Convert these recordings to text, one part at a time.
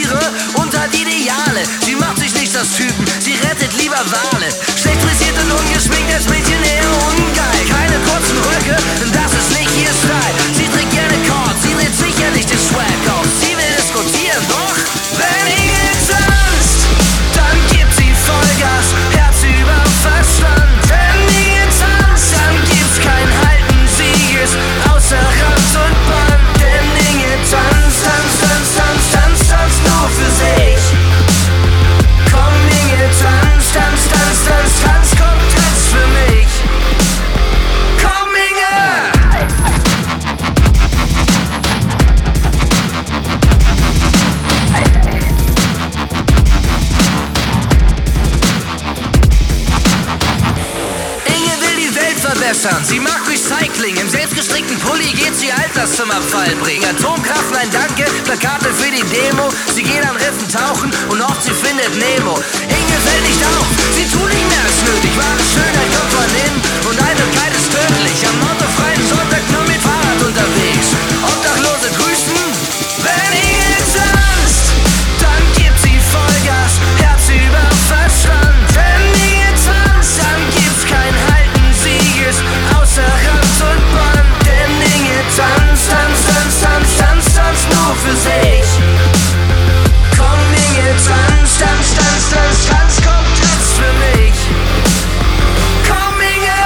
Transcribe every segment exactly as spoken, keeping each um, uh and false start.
Tiere und hat Ideale. Sie macht sich nicht das Typen, sie rettet lieber Wale. Schlecht frisiert und ungeschminkt, als Mädchen eher ungeil. Keine kurzen Röcke, das ist nicht ihr Style. Sie trägt gerne Chords, sie dreht sicherlich den Swag auf. Sie will diskutieren, doch wenn Inge tanzt, dann gibt sie Vollgas, Herz über Verstand. Wenn Inge tanzt, dann gibt's kein Halten, sie ist außer Rand und Band. Denn Inge tanzt, tanzt, tanzt, tanzt, tanzt, tanzt nur für sich. Komm Inge, tanz, tanz, tanz, tanz, tanz, komm, tanz für mich. Komm Inge! Verbessern. Sie mag Recycling, im selbstgestrickten Pulli geht sie Alterszimmerabfall bringen. Atomkraft, nein danke, Plakate für die Demo. Sie geht an Riffen tauchen und hofft, sie findet Nemo. Inge fällt nicht auf, sie tut nicht mehr als nötig. Wahre Schönheit kommt von innen und Eitelkeit ist tödlich. Am autofreien Sonntag nur mit Fahrrad unterwegs. Obdachlose grüßen, wenn Inge tanzt, dann gibt sie Vollgas, Herz über Verstand. Wenn Inge tanzt, dann gibt's kein Halten. Ist außer Rand und Band, denn Inge tanzt, tanzt, tanzt, tanzt, tanzt, tanzt nur für sich. Komm Inge, tanzt, tanzt, tanzt, tanzt, tanzt, komm, tanzt für mich. Komm Inge!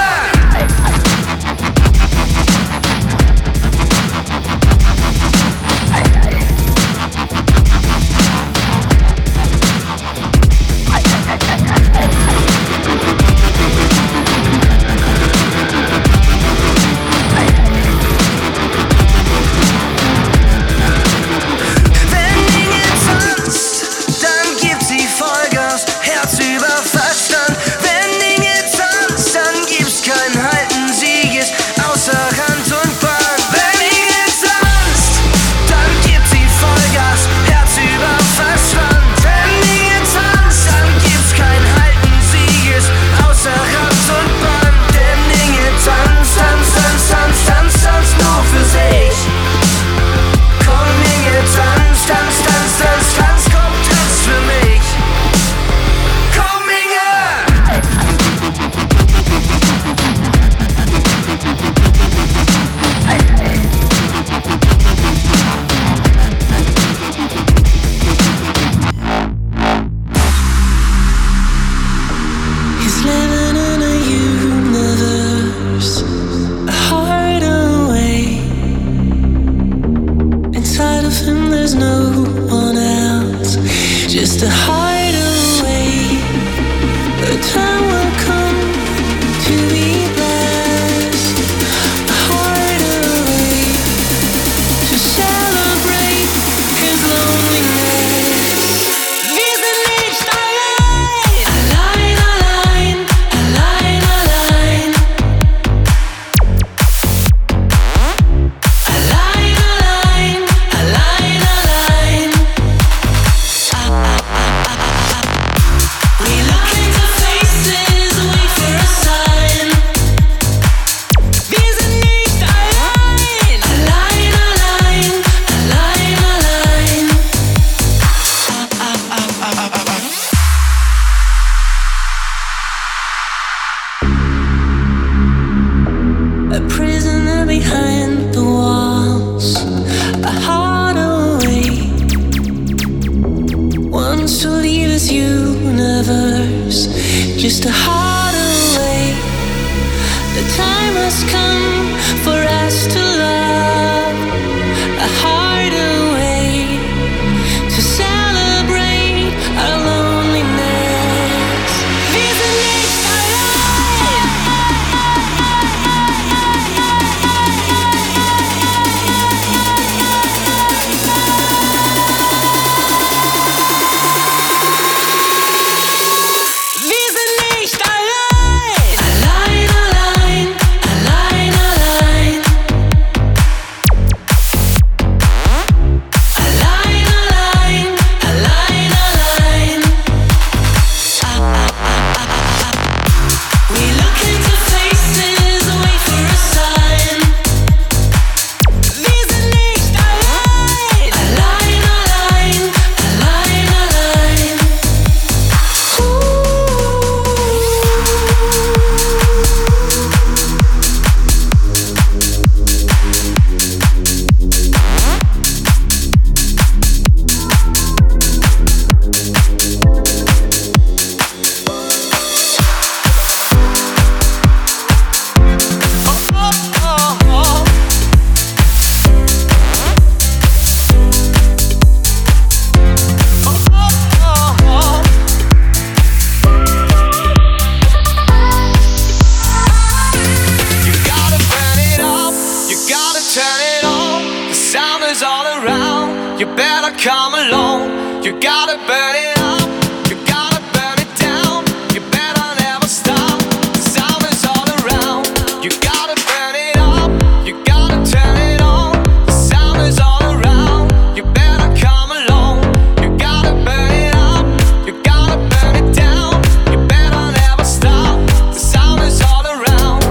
come along. You gotta burn it up, you gotta burn it down. You better never stop, the sound is all around. You gotta burn it up, you gotta turn it on. The sound is all around. You better come along. You gotta burn it up, you gotta burn it down. You better never stop, the sound is all around.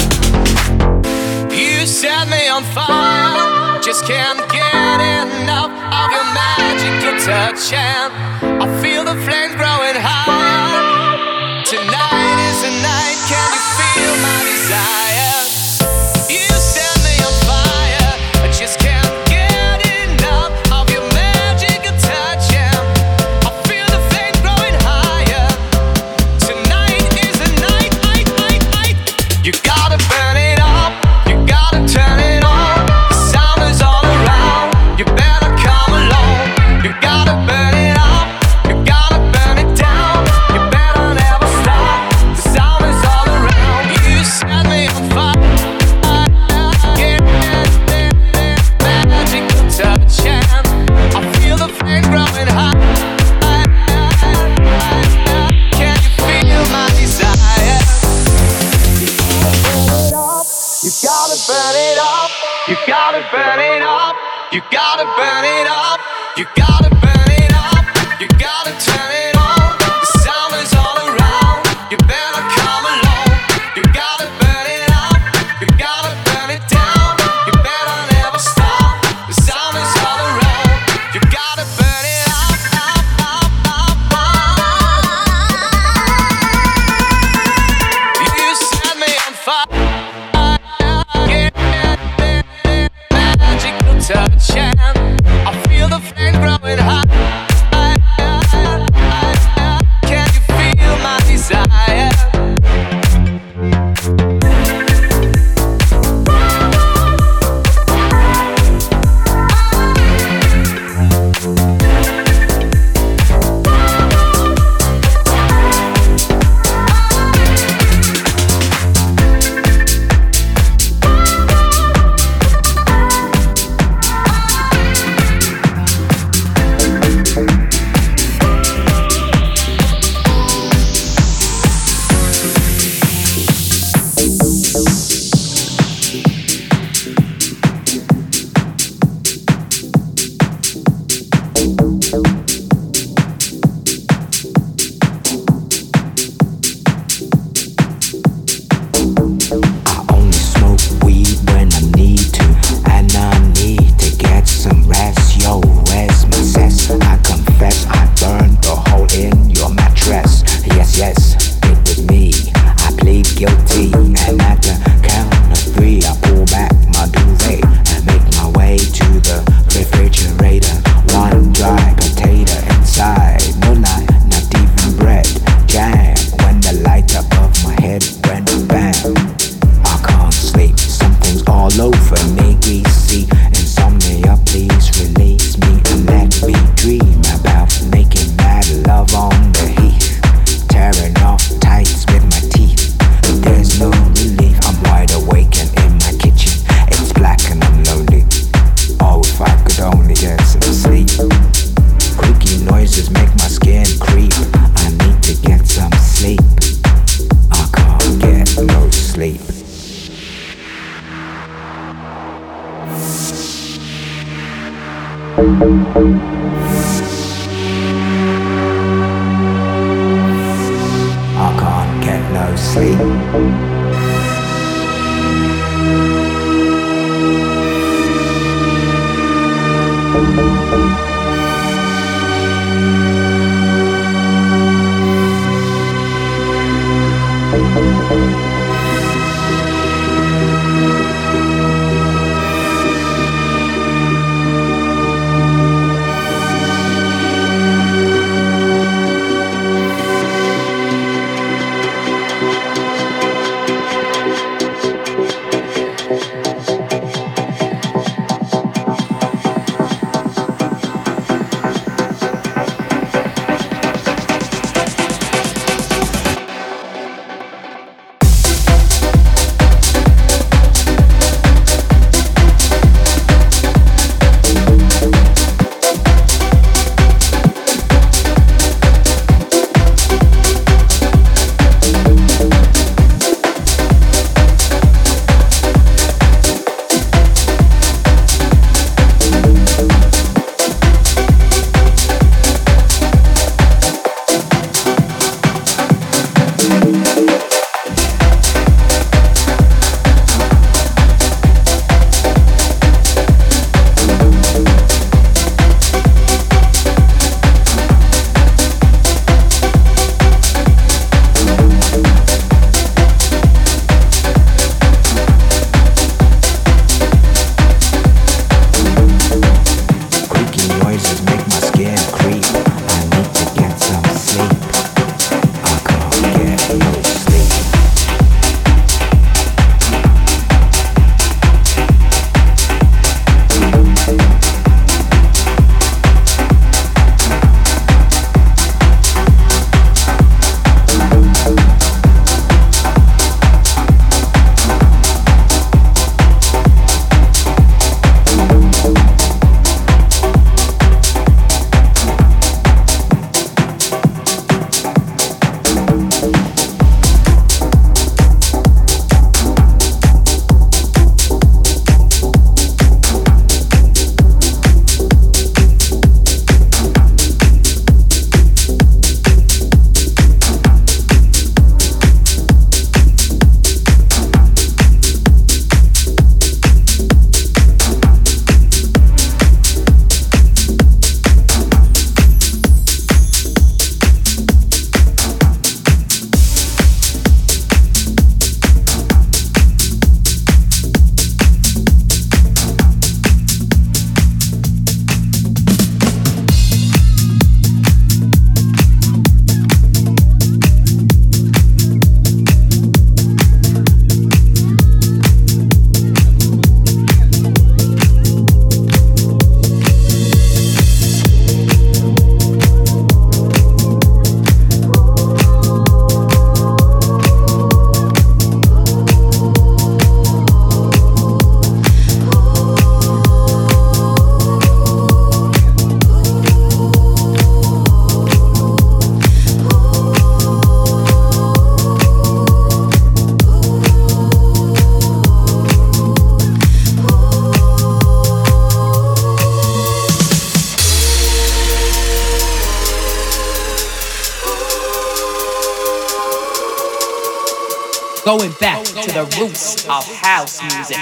You set me on fire, just can't get enough of your magical touch, and I feel the flames growing higher. Tonight is the night, can you feel my desire? You set me on fire, I just can't get enough of your magical touch, and I feel the flames growing higher. Tonight is the night, night, night, night. You gotta burn it up, you gotta turn it on. The sound is all around. You better come along. You gotta burn it up, you gotta burn it down. You better never stop, the sound is all around. You set me on fire, yeah, magical touch, and I feel the flame growing high. Can you feel my desire? You gotta burn it up, you gotta burn it up, you gotta burn it up, you gotta burn it up, you gotta turn it on. The sound is all around. You better come along. You gotta burn it up, you gotta burn it down. You better never stop, the sound is all around. You gotta burn it up, up, up, up, up. You set me on fire, magical touch, and I feel the flame growing high. Can you feel my desire? I can't get no sleep. Going back to the roots of house music.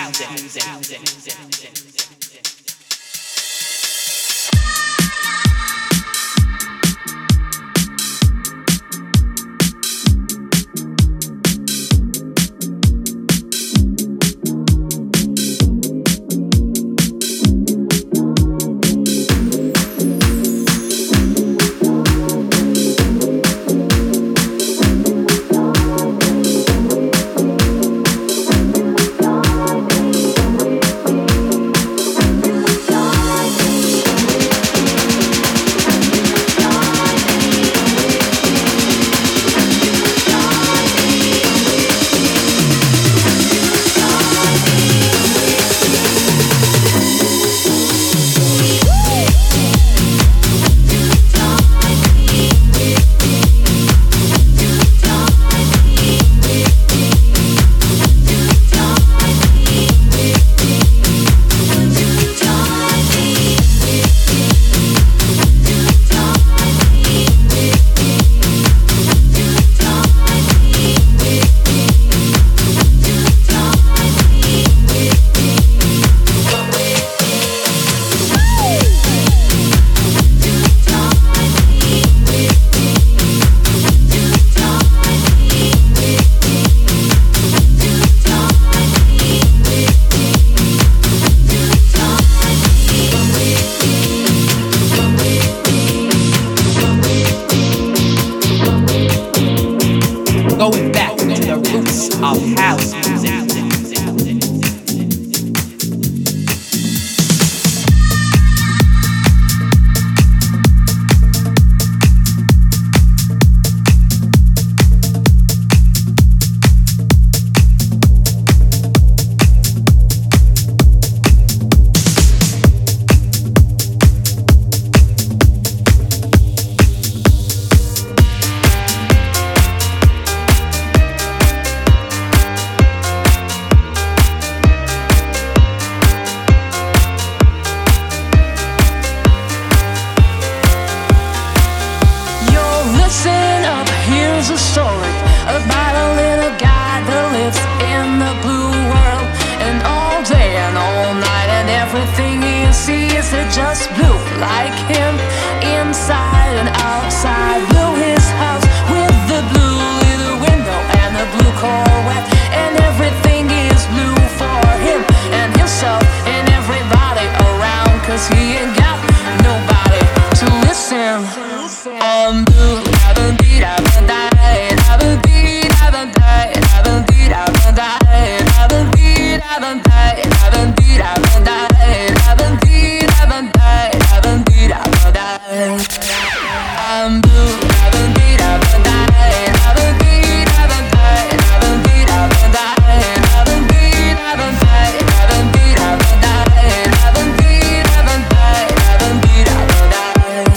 Going back to the roots of house music. Just blue like him, inside and outside. Blew his house with the blue little window and the blue Corvette, and everything is blue for him and himself and everybody around, cause he ain't got nobody to listen. I'm blue, haven't beat, haven't died, haven't beat, haven't died, haven't beat, haven't died, haven't beat, haven't died, haven't beat, haven't died, haven't beat, haven't died, haven't beat, haven't died. I'm blue, haven't beat, haven't died, haven't beat, haven't died, haven't beat, haven't died, haven't beat, haven't died, haven't beat, haven't died, haven't beat, haven't died, haven't beat, haven't died.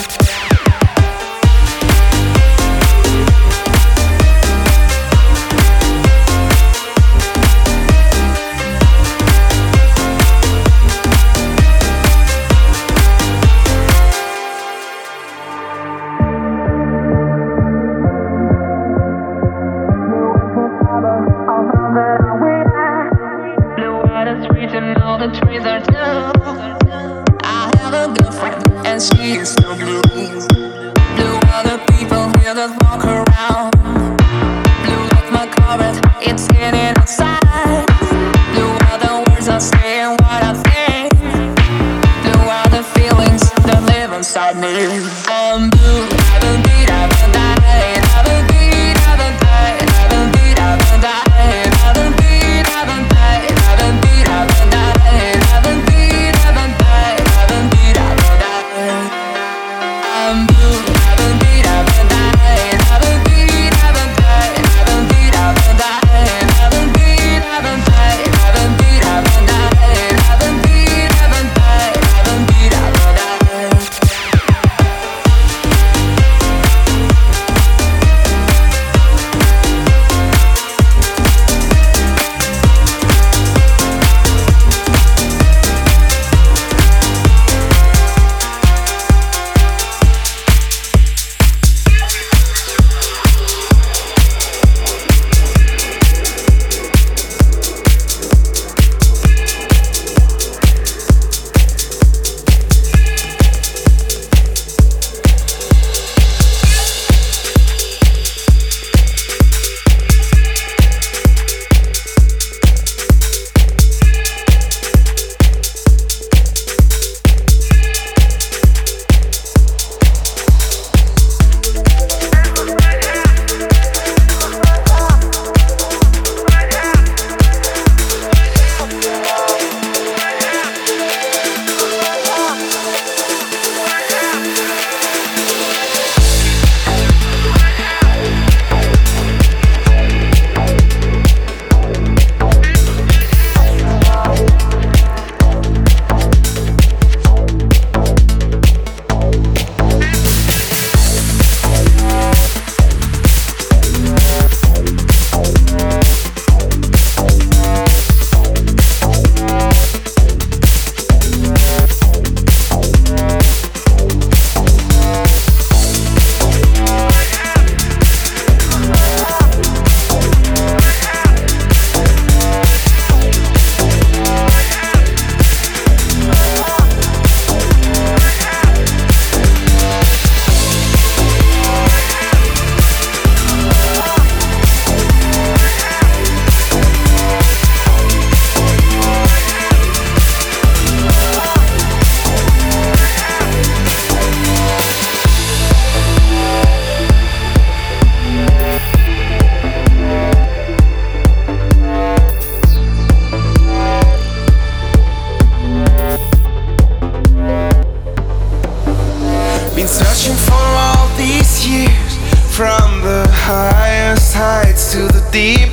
All the trees are blue. I have a girlfriend and she is so blue. Blue other people here that walk around. Blue like my carpet, it's hidden outside. Blue are the words I say and what I think. Blue are the feelings that live inside me. I'm blue, haven't beat, haven't died, haven't beat, haven't died, haven't beat, haven't died, haven't beat, haven't died, haven't beat, haven't died. Haven't beat, haven't died, haven't beat, haven't died. I'm blue, haven't beat, haven't died, haven't beat, haven't died, haven't beat, haven't died, haven't beat, haven't died, haven't beat, haven't died,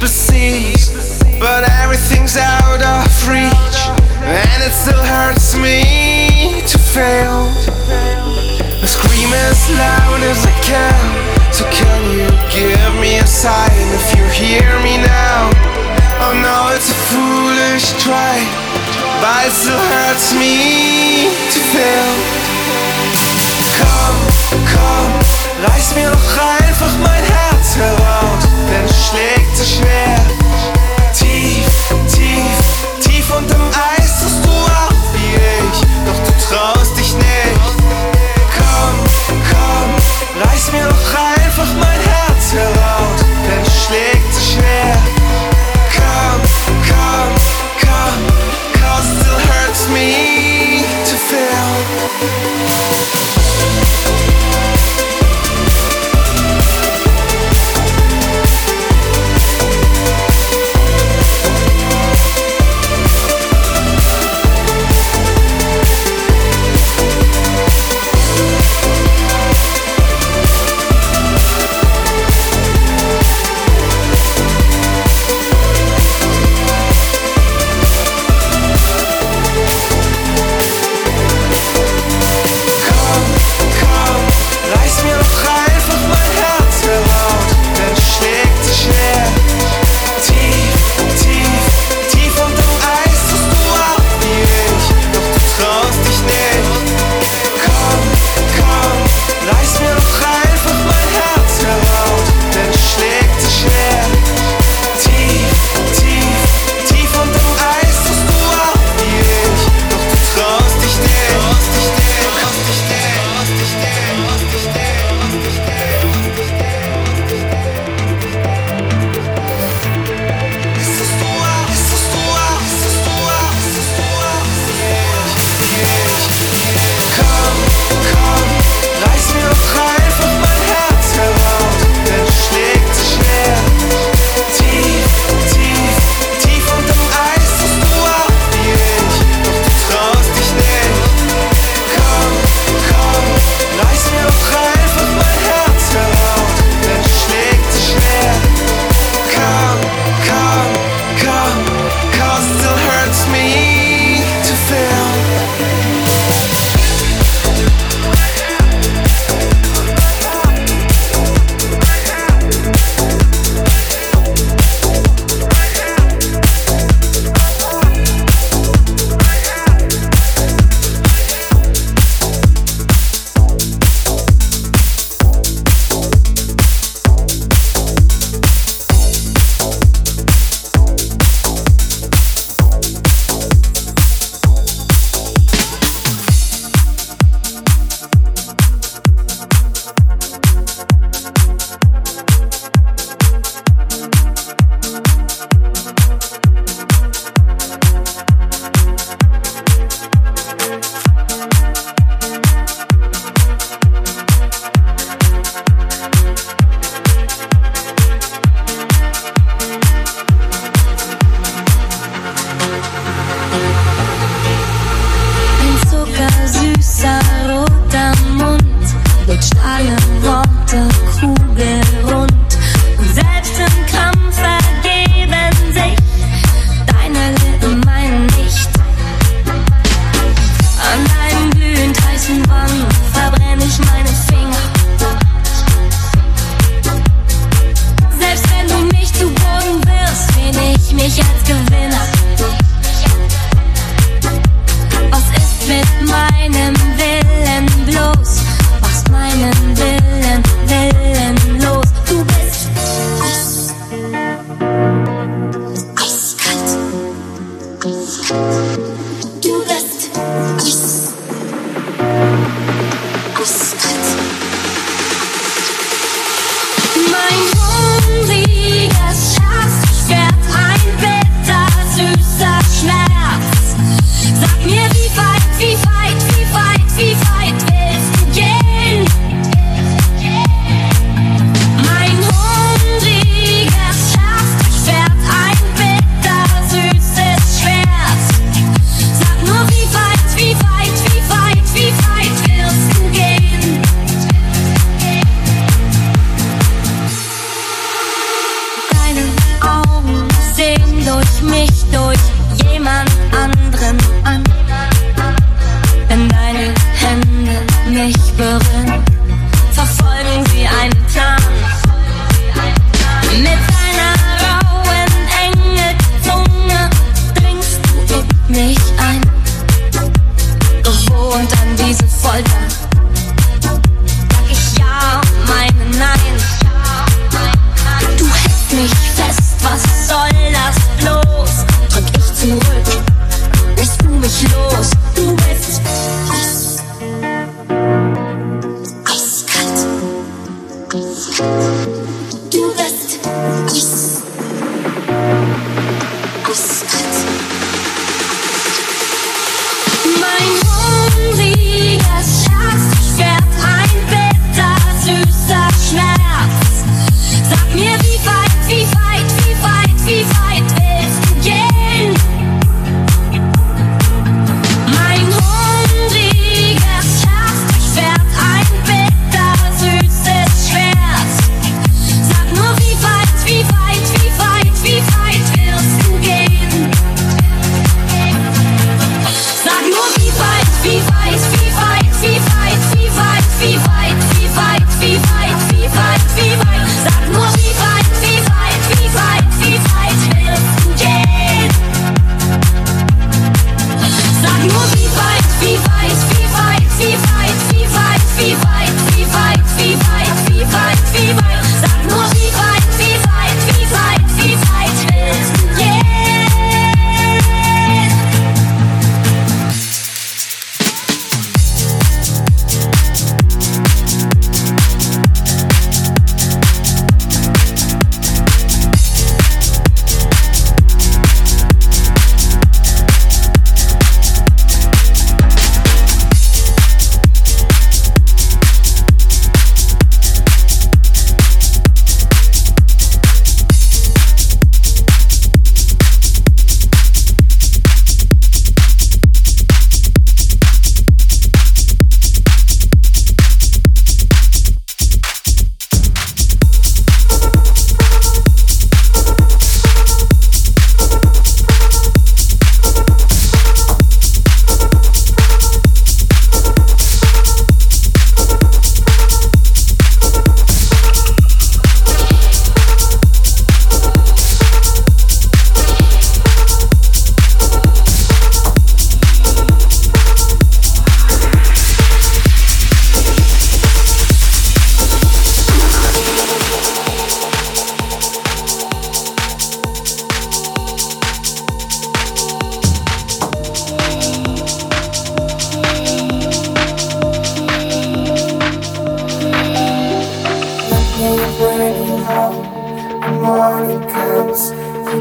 besieged, but everything's out of reach, and it still hurts me to fail. I scream as loud as I can, so can you give me a sign if you hear me now? Oh no, it's a foolish try, but it still hurts me to fail. Komm, komm, reiß mir doch einfach mein Herz heraus, denn es schlägt so schwer. Tief, tief, tief unterm Eis tust du auch wie ich, doch du traust dich nicht. Komm, komm, reiß mir doch einfach mein Herz heraus, denn es schlägt so schwer. Come, come, come, cause it still hurts me to fail. Mein hungriges Herz schwert ein Bild, das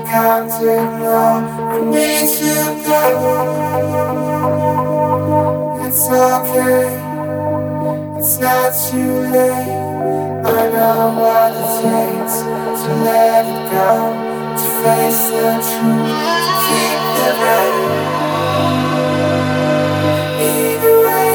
can't ignore for me to go. It's okay, it's not too late. I know what it takes to let it go, to face the truth, to keep the rain. Either way.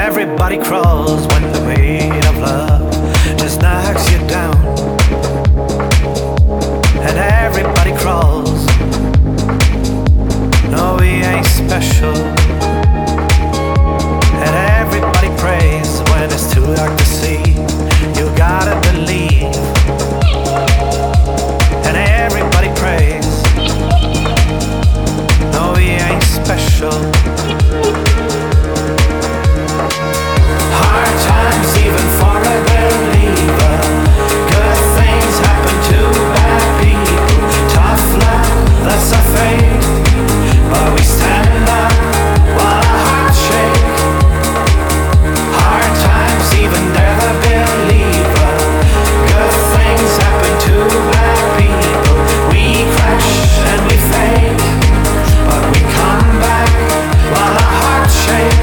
everybody crawls when the weight of love just knocks you down. And everybody crawls. No, we ain't special. And everybody prays when it's too dark to see. You gotta believe. And everybody prays. No, we ain't special. Hard times even for a believer. Good things happen to bad people. Tough luck, that's a fate. But we stand up while our hearts shake. Hard times even they're the believer. Good things happen to bad people. We crash and we fade, but we come back while our hearts shake.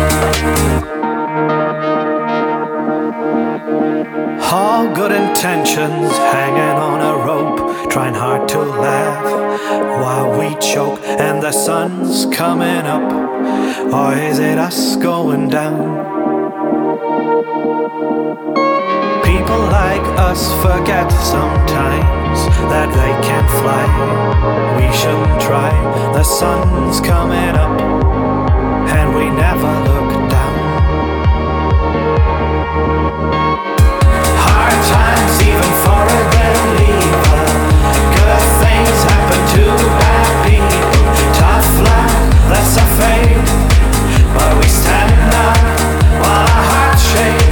All good intentions hanging on a rope, trying hard to laugh while we choke and the sun's coming up. Or is it us going down? People like us forget sometimes that they can't fly. We shouldn't try. The sun's coming up and we never look down. Hard times even for a believer. Good things happen to bad people. Tough luck, that's a fate. But we stand up while our hearts shake.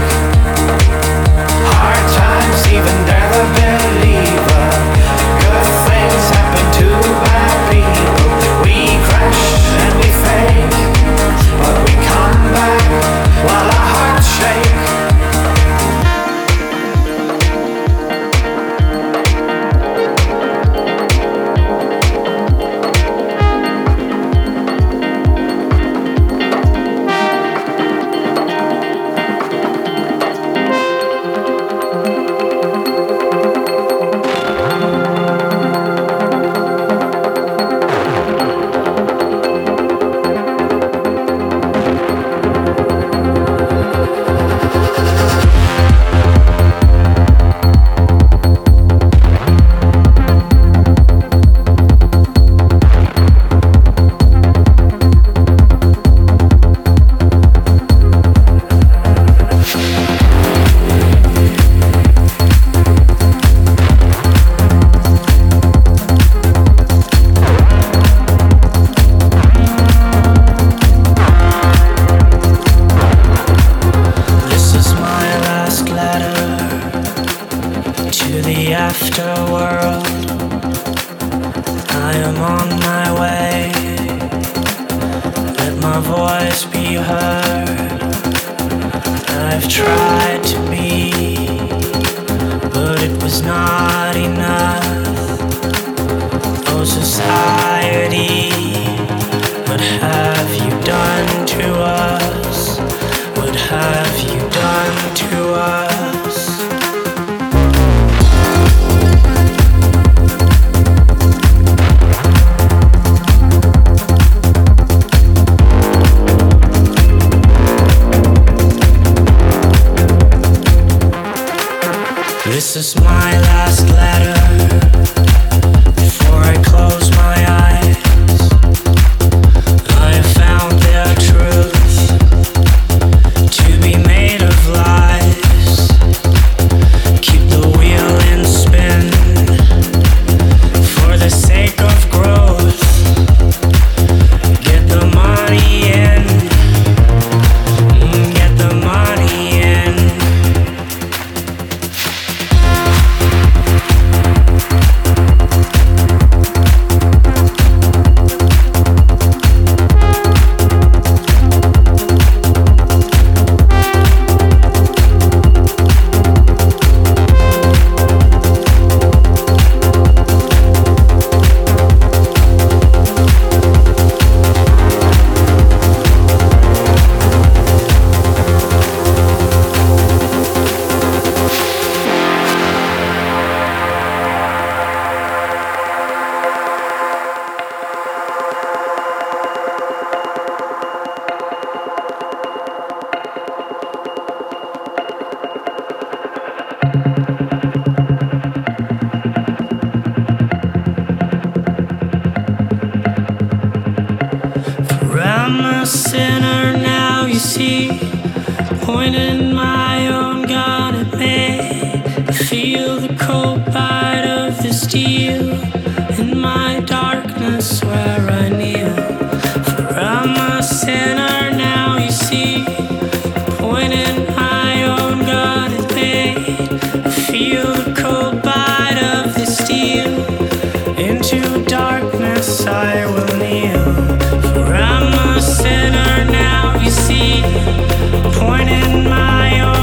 Hard times even they're the believer. Good things happen to bad people. We crash and we fade, but we come back while our hearts shake. Get the money in. see, pointing my own gun at me. I feel the cold bite of the steel in my darkness where I kneel. For I'm a sinner now, you see, pointing my own gun at me. I feel the cold bite of the steel. Into darkness I will kneel. For I'm a sinner now, you see, pointing my own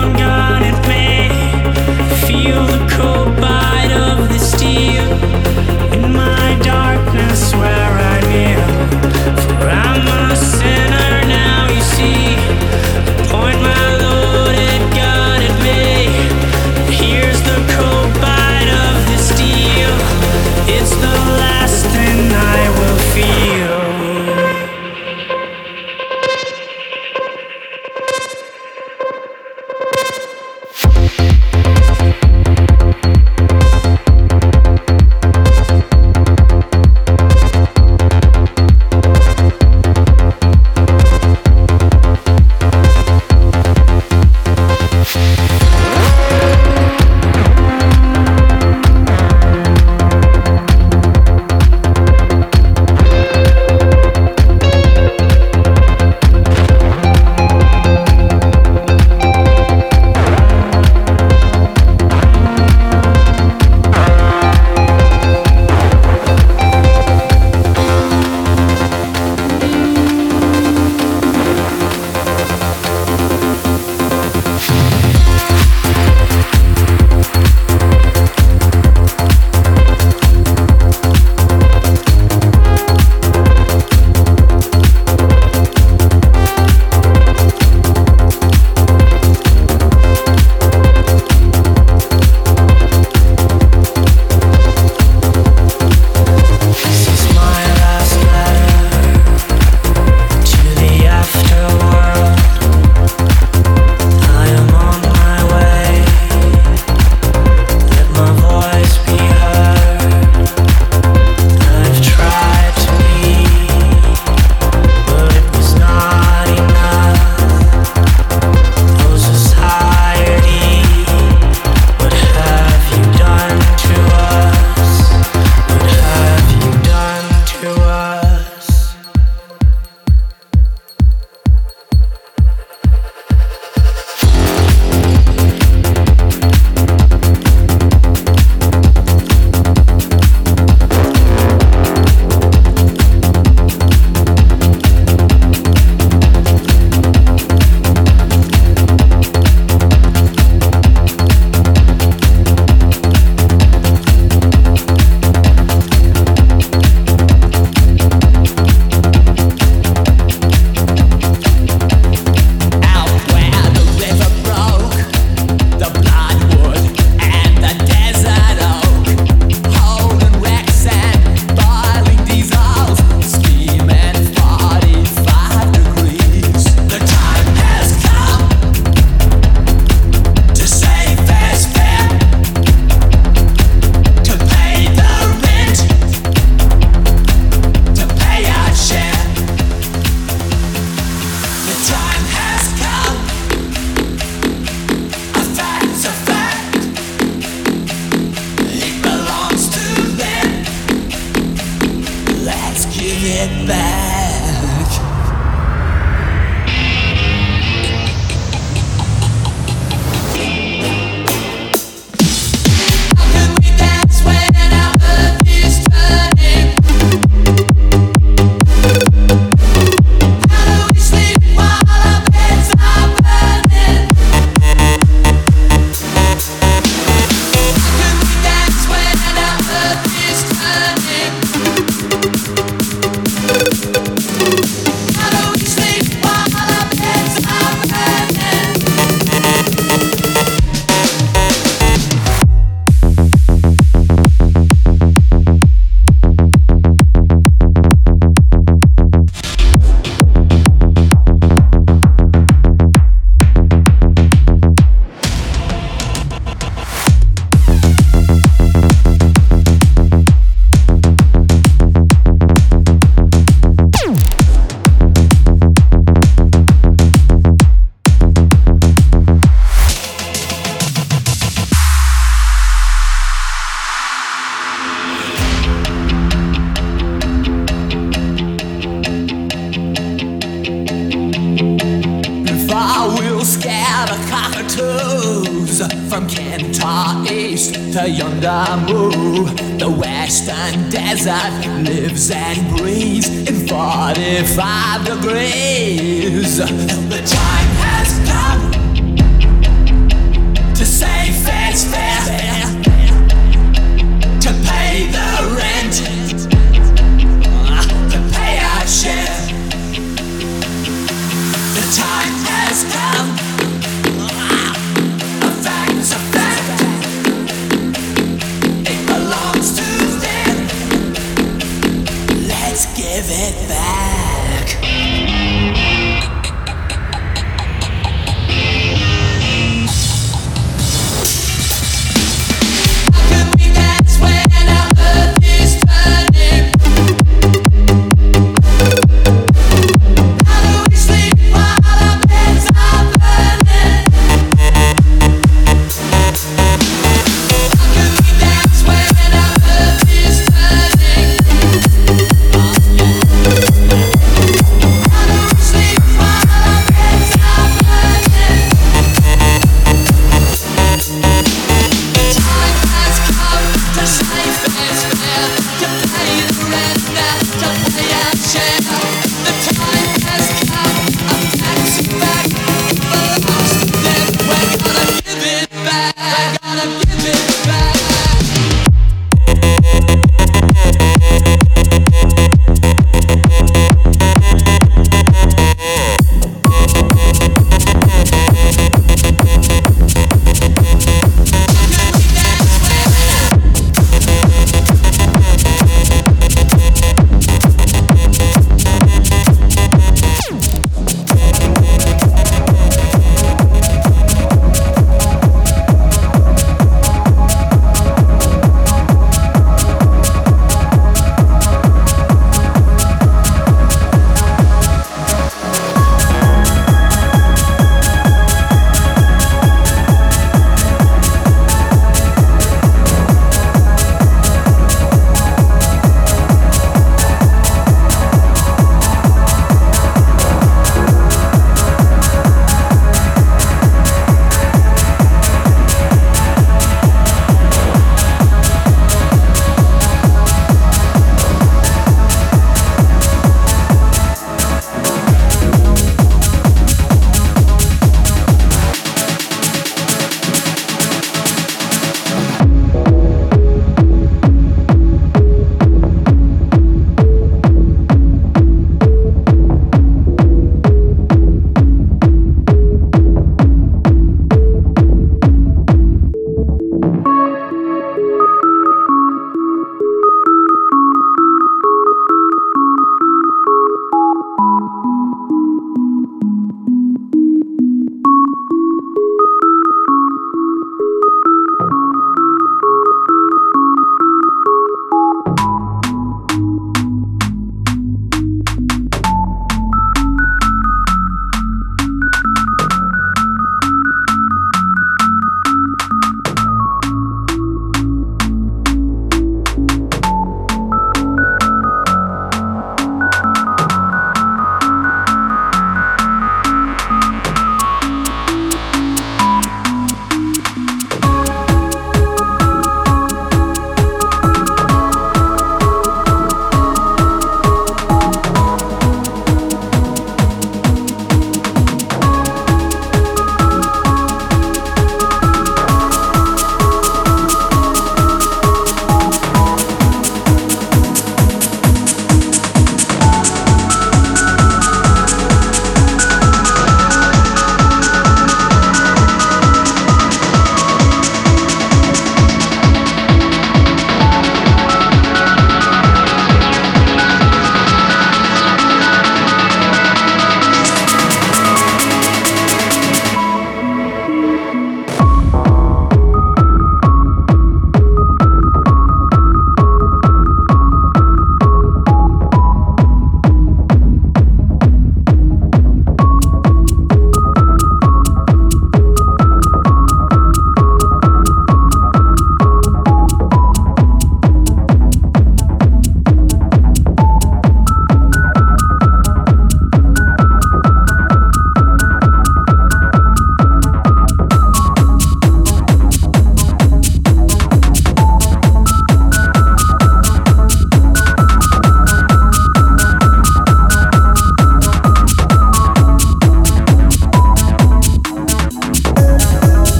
our toes. From Kentar East to Yondamu, the western desert lives and breathes in forty-five degrees. The time has come to say fair's fair, to pay the rent, to pay our share. The time has